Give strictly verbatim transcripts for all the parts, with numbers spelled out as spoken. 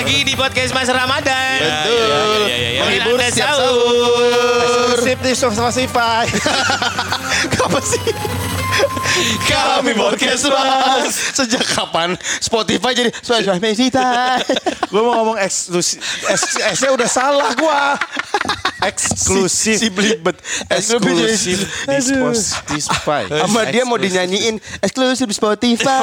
lagi di podcast Mas Ramadan. Betul. Ya, ya, ya, ya. Menghibur Anda siap sahur. Sip di Spotify. Apa sih? Kami podcast Mas. Sejak kapan Spotify jadi Spotify kita? Gue mau ngomong eksklusif. S-nya udah salah gua. Eksklusif. Si belibet. Eksklusif di Spotify. Sama dia mau dinyanyiin eksklusif di Spotify.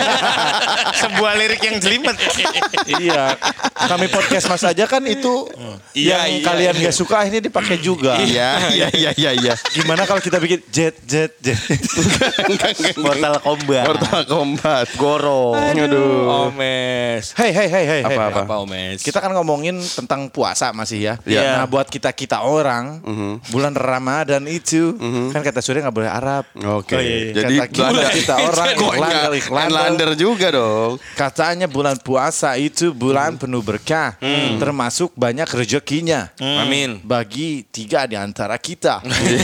Sebuah lirik yang jelimet. Iya. Kami podcast Mas aja kan itu Iya, yang iya, kalian iya. gak suka ini dipakai juga. Iya, iya, iya, iya, iya. Gimana kalau kita bikin jet jet jet. Mortal Kombat. Mortal Kombat. Goro. Aduh. Omes. Hey hey hey hey. hey. Apa-apa? Apa Omes? Kita kan ngomongin tentang puasa masih ya. Iya. Nah buat kita-kita orang, bulan Ramadan itu, kan kata Surya gak boleh Arab. Oke. Oh, iya. Jadi Kata kita, Belanda. kita orang Kok Irlander, enggak? Irlander. Irlander juga dong. Katanya bulan puasa itu bulan penuh berkah, termasuk banyak rezekinya. Amin. Bagi tiga di antara kita.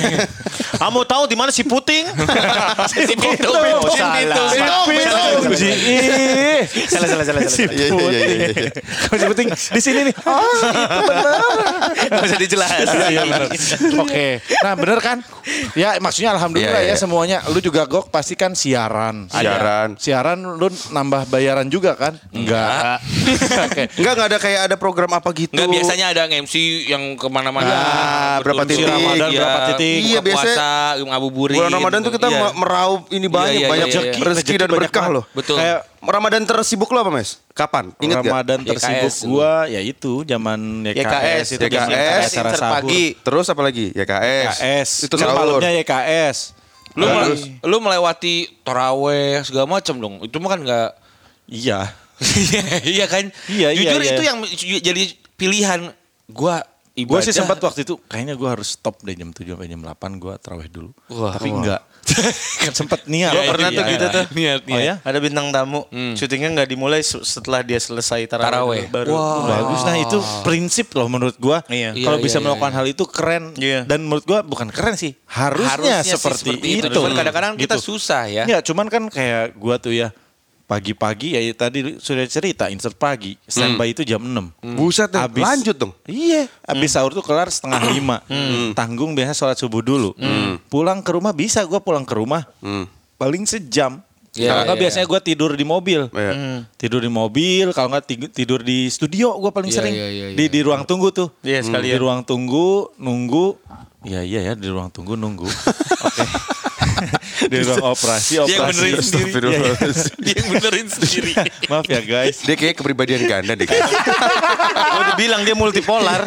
Kamu tahu di mana si Puting? Si Pitung. Oh, Si salah. Pitung. Si Salah. Pitung. Salah. Ih. Salah, salah, salah, salah. Iya, iya, iya, iya, iya. Kalau si penting di sini nih. Oh, itu benar. Gak usah dijelas. Iya benar. Oke. Nah, benar kan? Ya, maksudnya alhamdulillah Iya, iya. ya semuanya. Lu juga Gok pasti kan siaran. Siaran. Siaran lu nambah bayaran juga kan? Enggak. Oke. Enggak, enggak ada kayak ada program apa gitu. Enggak, biasanya ada M C yang kemana-mana. Ah, berapa Betul, titik. Ramadan Iya. berapa titik. Iya, Buka biasanya puasa, ngabuburit. Bulan Ramadan tuh kita Iya. meraup ini banyak, iya, banyak iya, iya. rezeki, rezeki dan Rezeki berkah banyak loh. Betul. Kayak Ramadan tersibuk lo apa, Mas? Kapan? Ingat gak? Ramadan Y K S tersibuk dulu. gua ya itu zaman Y K S, Y K S, itu Y K S, zaman acara insert sahur. pagi. Terus apa lagi? Y K S. Y K S. Itu Lu sahur. malamnya Y K S. Lu Terus, lu melewati taraweh segala macam dong. Itu mah kan enggak iya. iya kan? Iya, iya, Jujur iya. itu yang jadi pilihan gua Gue ibadah. sih sempat waktu itu kayaknya gue harus stop deh jam tujuh sampai jam delapan gue tarawih dulu. Wah, Tapi wah. enggak. Sempet niat. Gua Iya, pernah iya, tuh iya. gitu tuh. Niat, Oh ya? Ada bintang tamu, Hmm. syutingnya nggak dimulai se- setelah dia selesai tarawih, Tarawih. dulu, baru. Oh, bagus. Nah itu prinsip loh menurut gue. Iya. Kalau Iya, bisa iya, melakukan iya. hal itu keren. Iya. Dan menurut gue bukan keren sih. Harusnya, Harusnya sih seperti, itu. Cuman kadang-kadang kita Gitu. susah ya. Ya cuman kan kayak gue tuh ya. Pagi-pagi ya tadi sudah cerita insert pagi. Standby itu jam enam. Buset deh, Abis- lanjut dong. Iya, habis sahur tuh kelar setengah lima. Tanggung biasanya sholat subuh dulu. Pulang ke rumah bisa gue pulang ke rumah Hmm. paling sejam. Iya, Kalau nggak iya, biasanya gue tidur di mobil. Iya. Tidur di mobil, kalau nggak ti- tidur di studio gue paling Iya, sering. iya, iya, di iya. di ruang tunggu tuh. Iya, Di sekalian. ruang tunggu nunggu. Iya iya ya di ruang tunggu nunggu. Oke. Di ruang operasi Dia yang operasi. benerin sendiri. Iya, iya. Dia yang benerin sendiri. Maaf ya guys. Dia kayak kepribadian ganda deh. kayaknya. Gue udah bilang dia multipolar.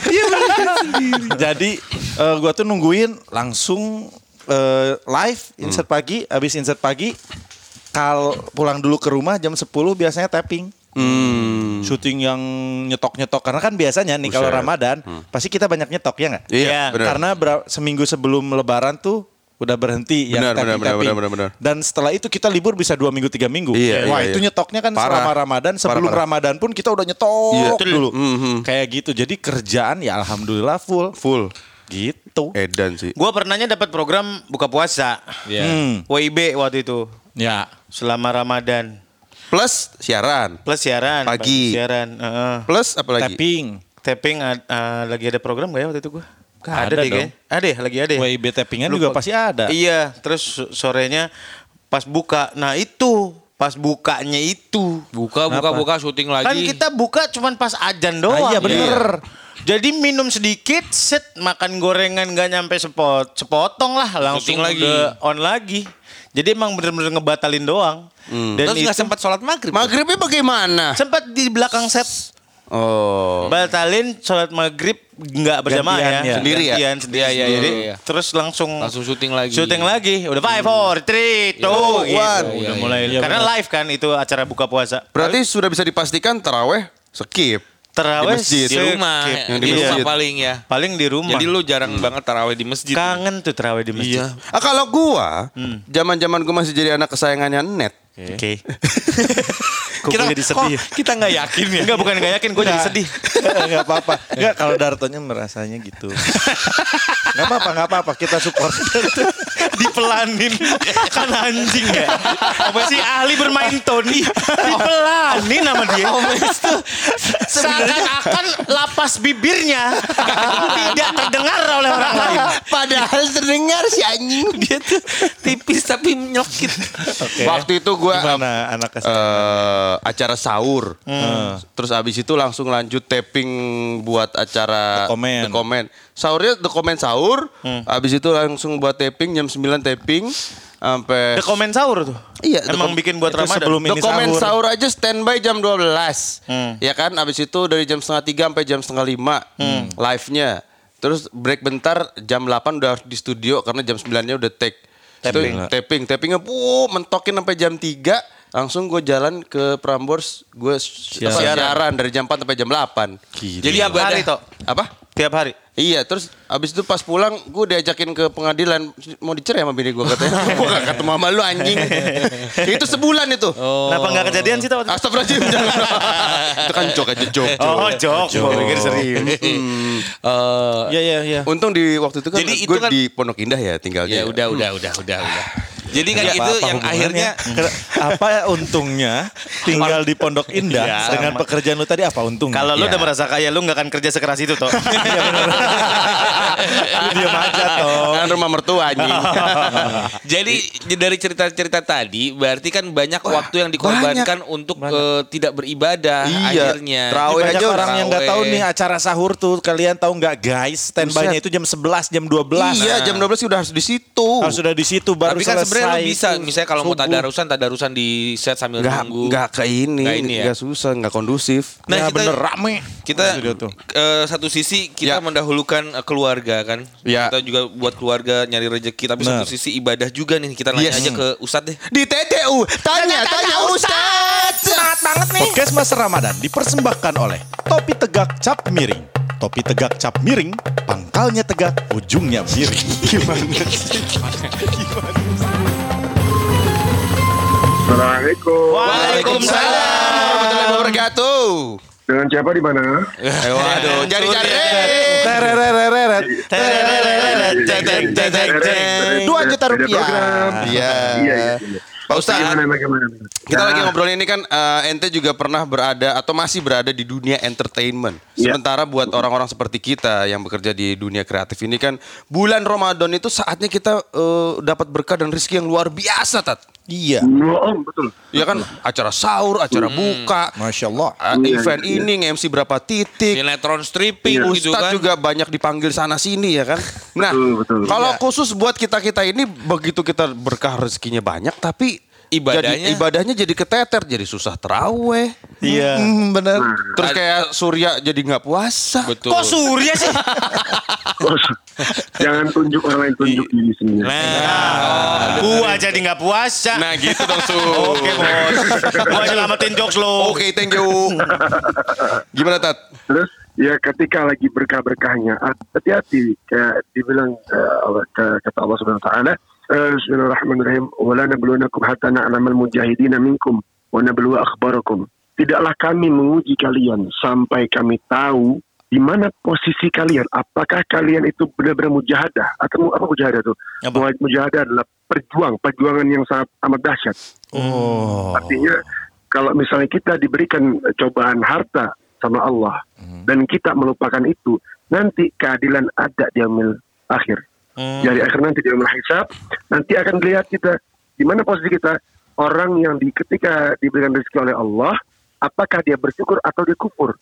Jadi eh, gua tuh nungguin langsung eh, live insert pagi, habis insert pagi kal pulang dulu ke rumah jam sepuluh biasanya tapping. Hmm. Syuting yang nyetok-nyetok karena kan biasanya nih kalau Buset. Ramadan pasti kita banyak nyetok ya nggak? Iya, benar. Karena ber- seminggu sebelum Lebaran tuh udah berhenti yang Benar, benar, tapping-tapping. benar, benar, benar. Dan setelah itu kita libur bisa dua minggu tiga minggu. Iya, Wah iya, itu iya. nyetoknya kan Parah. selama Ramadan sebelum parah. Ramadan pun kita udah nyetok Iya. dulu. Mhm. Kayak gitu. Jadi kerjaan ya alhamdulillah full. Full. Gitu. Edan sih. Gue pernahnya dapat program buka puasa. Iya. Hmm. W I B waktu itu Ya. selama Ramadan. Plus siaran. Plus siaran. Pagi. Siaran. heeh. Plus apa lagi? Tapping. Tapping ad- eh, lagi ada program gak ya waktu itu gue? Ada Ada deh dong. kayaknya. Ada ya, lagi ada ya? W I B tappingan Lupa. juga pasti ada. Iya, terus so- sorenya pas buka. Nah itu, pas bukanya itu. Buka, buka, Kenapa? buka, syuting lagi. Kan kita buka cuman pas ajan doang. Ah, iya, bener. Jadi minum sedikit, set makan gorengan gak nyampe sepot, sepotong lah, langsung Syuting lagi. udah on lagi. Jadi emang bener-bener ngebatalin doang. Dan Terus nggak itu sempat sholat maghrib. Maghribnya bagaimana? sempat di belakang set Oh. batalin sholat maghrib nggak berjamaah Gantian, ya, ya. Sendiri ya? Gantian, sendiri. Iya, iya, iya, Jadi iya. terus langsung Langsung syuting lagi. syuting lagi. Udah five, four, three, two, Oh, gitu. one. Udah Iya, iya, mulai. iya, Karena benar. live kan itu acara buka puasa. Berarti sudah bisa dipastikan taraweh skip. Terawih Di masjid. Di rumah, skip. Yang di di rumah masjid. paling ya. Paling di rumah. Jadi lu jarang banget tarawih di masjid. kangen tuh terawih di masjid. Iya. Ah, kalau gua, zaman-zaman gua masih jadi anak kesayangannya Net. Oke. Kok kita, gue jadi sedih. kok kita nggak yakin ya? Enggak, bukan gak yakin, gue jadi sedih. Enggak apa-apa. Enggak, kalau Dartonya merasanya gitu. Enggak apa-apa, enggak apa-apa. Kita support. Dipelanin. Kan anjing ya. Si ahli bermain Tony. Dipelanin sama dia. Omes tuh Seakan-akan lapas bibirnya tidak terdengar oleh orang lain. padahal terdengar si anjing. Dia tuh tipis tapi nyelkit. Waktu itu gue Gimana anak S M P? eh acara sahur. Terus abis itu langsung lanjut taping buat acara The Comment. The Comment. Sahurnya The Comment sahur. Abis itu langsung buat taping jam sembilan taping sampai The Comment sahur tuh. Iya, The Emang Com- bikin buat itu Ramadan. sebelum The ini Comment sahur. sahur aja standby jam dua belas. Hmm. Ya kan? Abis itu dari jam setengah tiga sampai jam setengah lima live-nya. Terus break bentar jam delapan udah di studio karena jam sembilan-nya udah take. Taping. Itu taping. Tapingnya puh, mentokin sampai jam tiga. Langsung gue jalan ke Prambors. Gue siaran dari jam empat sampai jam delapan. Jadi Tiap ibadah. hari toh. Apa? Tiap hari. Iya, terus abis itu pas pulang gue diajakin ke pengadilan mau dicerai sama bini gue katanya. Gue gak ketemu sama lu anjing. Itu sebulan itu. Kenapa gak kejadian sih tau? Astagfirullahaladzim. jangan. Itu kan joke aja joke. Oh, jok. Gue pikir serius. Hmm. Eh, Iya, iya, iya. Untung di waktu itu kan Jadi itu gue kan- di Pondok Indah ya tinggalnya. ya udah udah udah udah udah. Jadi kan Apa- itu apa yang hubungannya? akhirnya apa ya untungnya tinggal di Pondok Indah Iya, dengan sama. pekerjaan lu tadi apa untungnya? Kalau lu Iya. udah merasa kaya, lu gak akan kerja sekeras itu toh. Iya benar. Lu diam aja toh. Kan rumah mertua anjing. jadi dari cerita-cerita tadi berarti kan banyak waktu yang dikorbankan untuk eh, tidak beribadah Iya. akhirnya. Terawih Banyak aja orang yang nggak tahu terawih. nih acara sahur tuh. Kalian tahu nggak guys? Standby-nya itu jam sebelas, jam dua belas. Iya, jam dua belas udah harus di situ. Harus sudah di situ baru Tapi kan selesai. sebenarnya lu bisa, itu misalnya kalau mau subuh. tadarusan, tadarusan di set sambil Nggak, nunggu. nggak ke ini, Nggak ini ya? nggak susah, nggak kondusif. Nah, Ya kita- bener rame. Kita Sudah tuh. eh, satu sisi kita Ya. mendahulukan eh, keluarga kan. Ya. Kita juga buat keluarga nyari rezeki, tapi Benar. satu sisi ibadah juga nih. Kita nanya Yes. aja ke Ustadz deh. Di T T U, tanya, tanya Ustaz. Semangat banget nih. Podcast Mas Ramadan dipersembahkan oleh Topi Tegak Cap Miring. Topi Tegak Cap Miring, pangkalnya tegak, ujungnya miring. Gimana sih? Assalamualaikum. Waalaikumsalam. Warahmatullahi wabarakatuh. Dengan siapa di mana? Eh, waduh, jari-jari. Tererereret. Dua juta Beda rupiah. program. Iya. Iya, iya. iya. Pak Ustadz, Bagaimana, bagaimana? kita Ya, lagi ngobrolin ini kan eh, ente juga pernah berada atau masih berada di dunia entertainment. Iya. Sementara buat orang-orang seperti kita yang bekerja di dunia kreatif ini kan bulan Ramadan itu saatnya kita eh, dapat berkah dan rezeki yang luar biasa, Tat. Iya. Oh, betul. Ya kan acara sahur, acara buka, Masya Allah. eh, Iya, event iya. ini nge-M C berapa titik. Sinetron stripping gitu Ustadz kan. juga banyak dipanggil sana sini ya kan. Nah, Betul, betul. kalau Iya. khusus buat kita-kita ini begitu kita berkah rezekinya banyak tapi Ibadahnya- jadi, ibadahnya jadi keteter, jadi susah teraweh. Iya. Hmm, bener. Nah. Terus kayak Surya jadi nggak puasa. Betul. Kok Surya sih? Jangan tunjuk orang lain, tunjuk diri sendiri. Nah, gua jadi gak puasa. Nah gitu dong Su. Oke bos. Gua nyelamatin jokes lo. Oke, thank you. Gimana Tat? Terus ya ketika lagi berkah-berkahnya, hati-hati kayak dibilang eh, Allah- ke- kata Allah Subhanahu wa taala, eh, Bismillahirrahmanirrahim, "Wala nabluwannakum hatta na'lamal mujahidina minkum wa nabluwa akhbarakum." Tidaklah kami menguji kalian sampai kami tahu di mana posisi kalian. Apakah kalian itu benar-benar mujahadah atau mu- apa mujahadah itu? Apa? Mujahadah adalah perjuang, perjuangan yang sangat amat dahsyat. Oh. Artinya kalau misalnya kita diberikan cobaan harta sama Allah dan kita melupakan itu, nanti keadilan ada di yaumil akhir. Dari akhir nanti di yaumil hisab, nanti akan dilihat kita di mana posisi kita. Orang yang di ketika diberikan rezeki oleh Allah, apakah dia bersyukur atau dia kufur?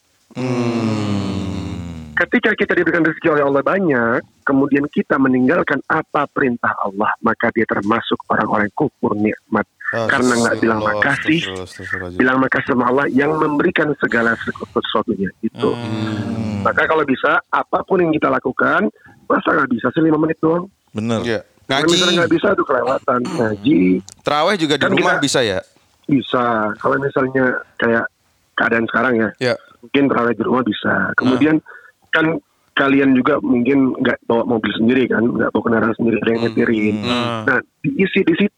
Ketika kita diberikan rezeki oleh Allah banyak, kemudian kita meninggalkan apa perintah Allah, maka dia termasuk orang-orang kufur nikmat. Karena nggak bilang makasih, bilang makasih sama Allah yang memberikan segala sesuatunya itu. Maka kalau bisa, apapun yang kita lakukan, masa nggak bisa sih lima menit doang? Bener. Iya. Kalau Ngaji, misalnya nggak bisa, itu kelewatan. Ngaji terawih juga di Kan rumah kita- bisa ya? bisa. Kalau misalnya kayak keadaan sekarang ya, Ya. mungkin terawih di rumah bisa. Kemudian kan kalian juga mungkin nggak bawa mobil sendiri kan, nggak bawa kendaraan sendiri, ada yang nyetirin. Nah, diisi di situ.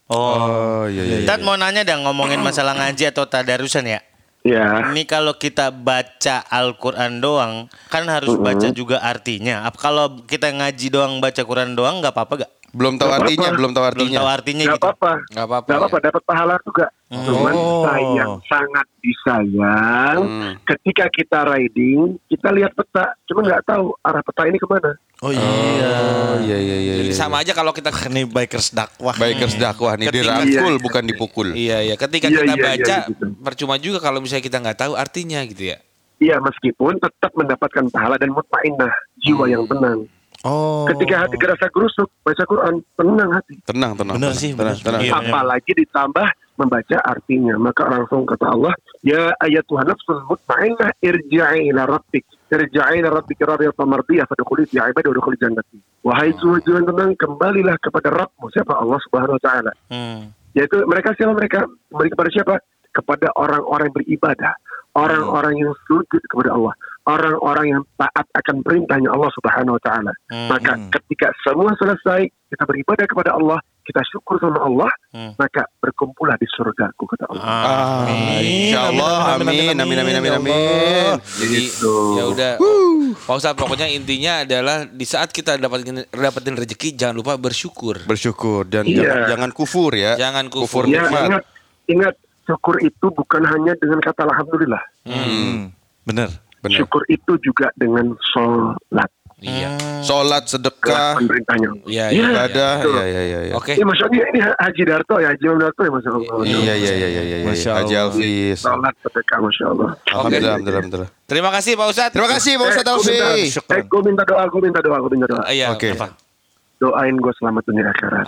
Oh, iya iya. Tat mau nanya dah ngomongin masalah ngaji atau tadarusan ya. Ya. Ini kalau kita baca Al-Quran doang, kan harus baca juga artinya. Apa kalau kita ngaji doang baca Quran doang nggak apa-apa gak? Belum tahu Nggak artinya, apa-apa. belum tahu Belum artinya. tahu artinya Gak gitu. apa-apa. Nggak apa-apa. Gak apa-apa, ya. dapat pahala juga. Cuman Oh. sayang, sangat disayang. Hmm. Ketika kita riding, kita lihat peta, cuma nggak tahu arah peta ini kemana. Oh iya. Oh iya iya iya. Jadi iya. sama aja kalau kita Ini bikers dakwah. Bikers dakwah nih Ketika- dirangkul Iya. bukan dipukul. Iya iya, ketika Iya, kita iya, iya, baca gitu. percuma juga kalau misalnya kita nggak tahu artinya gitu ya. Iya, meskipun tetap mendapatkan pahala dan mutmainnah, jiwa yang tenang. Oh. Ketika hati kerasa gerusuk, baca Quran, tenang hati. Tenang tenang. Bener tenang, sih, tenang, bener. tenang. Iya, bener. Apalagi ditambah membaca artinya. Maka langsung kata Allah, ya ayatuhan nafsul mutmainnah irja'i ila rabbik. Irja'i ila rabbik radiyatan mardiyah fadkhuli fi ibadi wa dkhuli jannati. Wahai jiwa yang tenang, kembalilah kepada Rabbmu. Siapa? Allah Subhanahu wa taala. Hmm. Yaitu mereka siapa mereka? Kembali kepada siapa? Kepada orang-orang yang beribadah. Orang-orang yang sujud kepada Allah. Orang-orang yang taat akan perintahnya Allah Subhanahu wa taala. Hmm. Maka ketika semua selesai, kita beribadah kepada Allah, kita syukur sama Allah, Hmm. maka berkumpullah di surgaku kata Allah. Amin. Insyaallah amin amin amin amin amin. Jadi Gitu. ya udah. Pak Ustadz, pokoknya intinya adalah di saat kita dapatin dapatin rezeki jangan lupa bersyukur. Bersyukur dan Iya. jangan, jangan kufur ya. Jangan kufur. Ya, nikmat. ingat, ingat syukur itu bukan hanya dengan kata alhamdulillah. Hmm. Bener. Benar. Syukur itu juga dengan sholat. Iya. Salat, sedekah, Kelakuan perintahnya. Iya, Iya. iya. ibadah, betul. iya iya iya. iya. Oke. Ini maksudnya ini Haji Darto ya, Haji Imam Darto ya Masya Allah. Iya iya iya iya iya. Masya Haji Allah. Alfis. Sholat sedekah Masya Allah. Alhamdulillah, alhamdulillah, alhamdulillah. Terima kasih Pak Ustadz. Terima kasih Pak Ustadz Eh, gua minta- Alfis. Eh, gue minta doa, gue minta doa, gue minta doa. Ah, Iya, Oke. apa? Doain gue selamat dunia akhirat.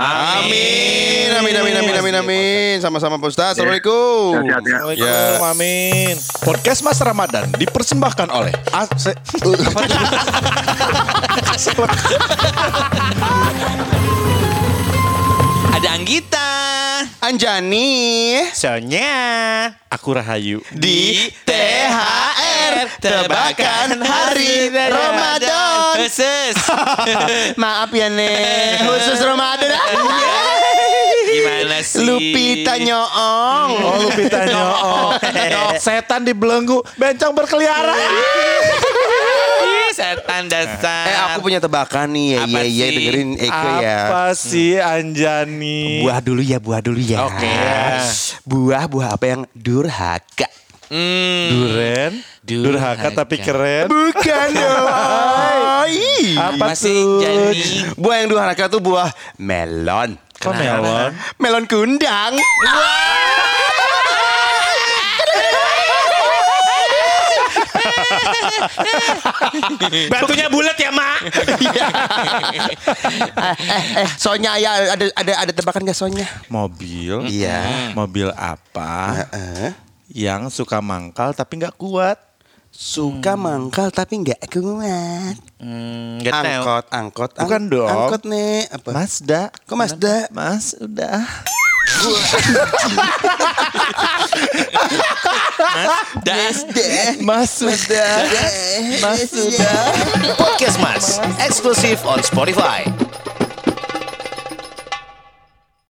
Amin, amin, amin, amin, amin, amin. Sama-sama Pak Ustadz. Assalamualaikum. Sehat-sehat ya. Assalamualaikum, amin. Podcast Mas Ramadan dipersembahkan oleh A C. Ada Anggita. Anjani Sonya. Aku Rahayu. di T H R tebakan hari Ramadan. Khusus. Maaf ya nih, khusus Ramadan. Gimana sih? Lupita nyoong. Oh, Lupita nyoo. Setan dibelenggu, bencong berkeliaran. Ih, setan dasar. Eh aku punya tebakan nih, ya Apa ya ya sih? dengerin Eko ya. Apa sih Anjani? Buah dulu ya, buah dulu ya. Oke. Buah buah apa yang durhaka? Hmm. Duren, durhaka tapi keren. Bukan dong. Apa Apa sih, tuh? Jani? Buah yang durhaka tuh buah melon. Kok melon? Melon kundang. Batunya bulat ya, Mak. eh, eh, Sonya ya ada ada ada tebakan gak Sonya? Mobil. Iya. Mobil apa Heeh. yang suka mangkal tapi nggak kuat? Suka mangkal tapi nggak kuat. Hmm, nggak tahu. Angkot, angkot. ang- Bukan dong. Angkot nih apa? Mazda. Kok Mazda? Mas, udah. Das. Mas, sudah. Mas, sudah. Podcast Mas, eksklusif on Spotify.